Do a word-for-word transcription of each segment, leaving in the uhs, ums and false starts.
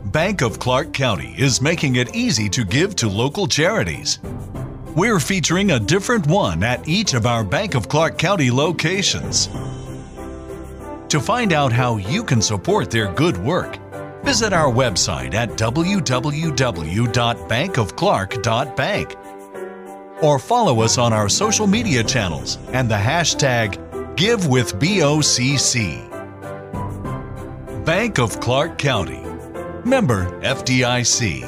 Bank of Clark County is making it easy to give to local charities. We're featuring a different one at each of our Bank of Clark County locations. To find out how you can support their good work, visit our website at w w w dot bank of clark dot bank or follow us on our social media channels and the hashtag GiveWithBOCC. Bank of Clark County. Member F D I C.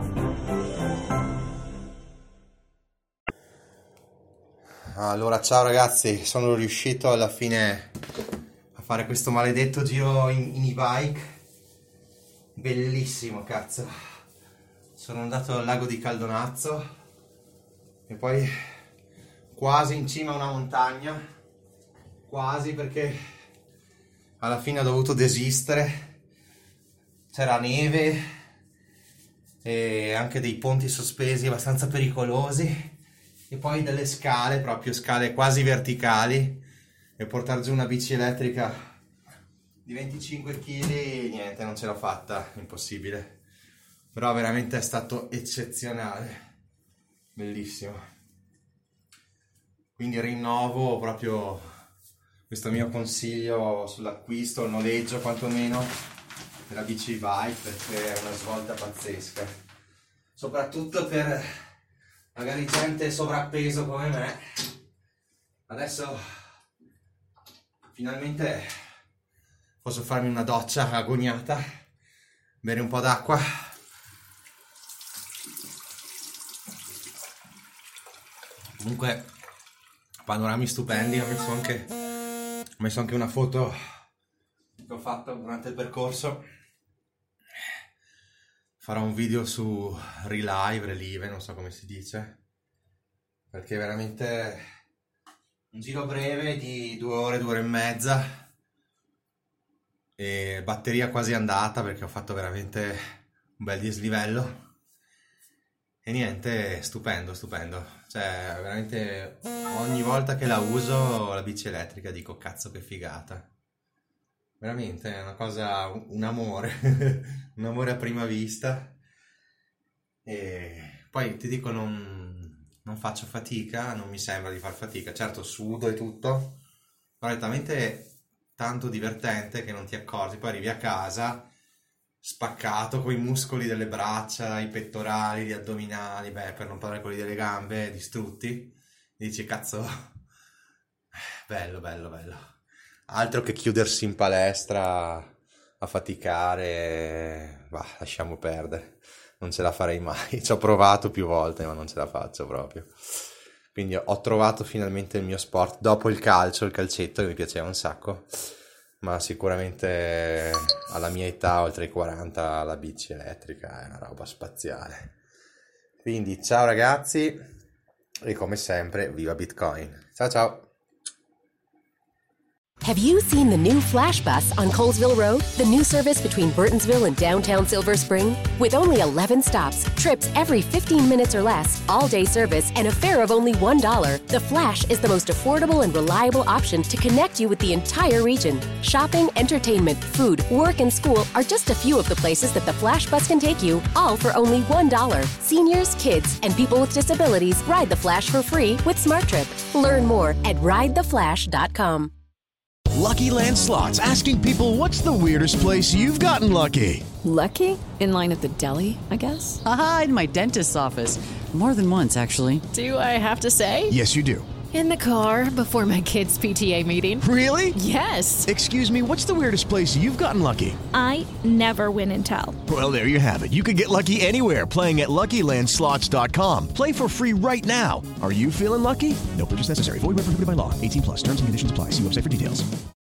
Allora, ciao ragazzi, sono riuscito alla fine a fare questo maledetto giro in, in e-bike. Bellissimo, cazzo. Sono andato al lago di Caldonazzo e poi quasi in cima a una montagna, quasi, perché alla fine ho dovuto desistere. C'era neve e anche dei ponti sospesi abbastanza pericolosi e poi delle scale, proprio scale quasi verticali, e portare giù una bici elettrica di venticinque chili, niente, non ce l'ho fatta, impossibile. Però veramente è stato eccezionale, bellissimo. Quindi rinnovo proprio questo mio consiglio sull'acquisto, il noleggio quantomeno della bici bike, perché è una svolta pazzesca, soprattutto per magari gente sovrappeso come me. Adesso finalmente posso farmi una doccia agoniata, bere un po' d'acqua. Comunque panorami stupendi. Ho messo anche ho messo anche una foto che ho fatto durante il percorso. Farò un video su Relive, Relive, non so come si dice, perché è veramente un giro breve di due ore, due ore e mezza, e batteria quasi andata perché ho fatto veramente un bel dislivello. E niente, stupendo, stupendo. Cioè, veramente ogni volta che la uso, la bici elettrica, dico cazzo che figata. Veramente è una cosa, un amore, un amore a prima vista. E poi ti dico, non, non faccio fatica, non mi sembra di far fatica. Certo, sudo e tutto, però è talmente tanto divertente che non ti accorgi. Poi arrivi a casa spaccato, con i muscoli delle braccia, i pettorali, gli addominali, beh, per non parlare quelli delle gambe, distrutti. E dici, cazzo, bello, bello, bello. Altro che chiudersi in palestra a faticare, bah, lasciamo perdere, non ce la farei mai. Ci ho provato più volte, ma non ce la faccio proprio. Quindi ho trovato finalmente il mio sport, dopo il calcio, il calcetto, che mi piaceva un sacco, ma sicuramente alla mia età, oltre i quaranta, la bici elettrica è una roba spaziale. Quindi ciao ragazzi, e come sempre, viva Bitcoin. Ciao ciao! Have you seen the new Flash Bus on Colesville Road? The new service between Burtonsville and downtown Silver Spring? With only eleven stops, trips every fifteen minutes or less, all-day service, and a fare of only one dollar, the Flash is the most affordable and reliable option to connect you with the entire region. Shopping, entertainment, food, work, and school are just a few of the places that the Flash Bus can take you, all for only one dollar. Seniors, kids, and people with disabilities ride the Flash for free with SmartTrip. Learn more at ride the flash dot com. Lucky Land Slots, asking people, what's the weirdest place you've gotten lucky? Lucky? In line at the deli, I guess? Aha, in my dentist's office. More than once, actually. Do I have to say? Yes, you do. In the car before my kids' P T A meeting. Really? Yes. Excuse me, what's the weirdest place you've gotten lucky? I never win and tell. Well, there you have it. You can get lucky anywhere, playing at Lucky Land Slots dot com. Play for free right now. Are you feeling lucky? No purchase necessary. Void where prohibited by law. eighteen plus. Terms and conditions apply. See website for details.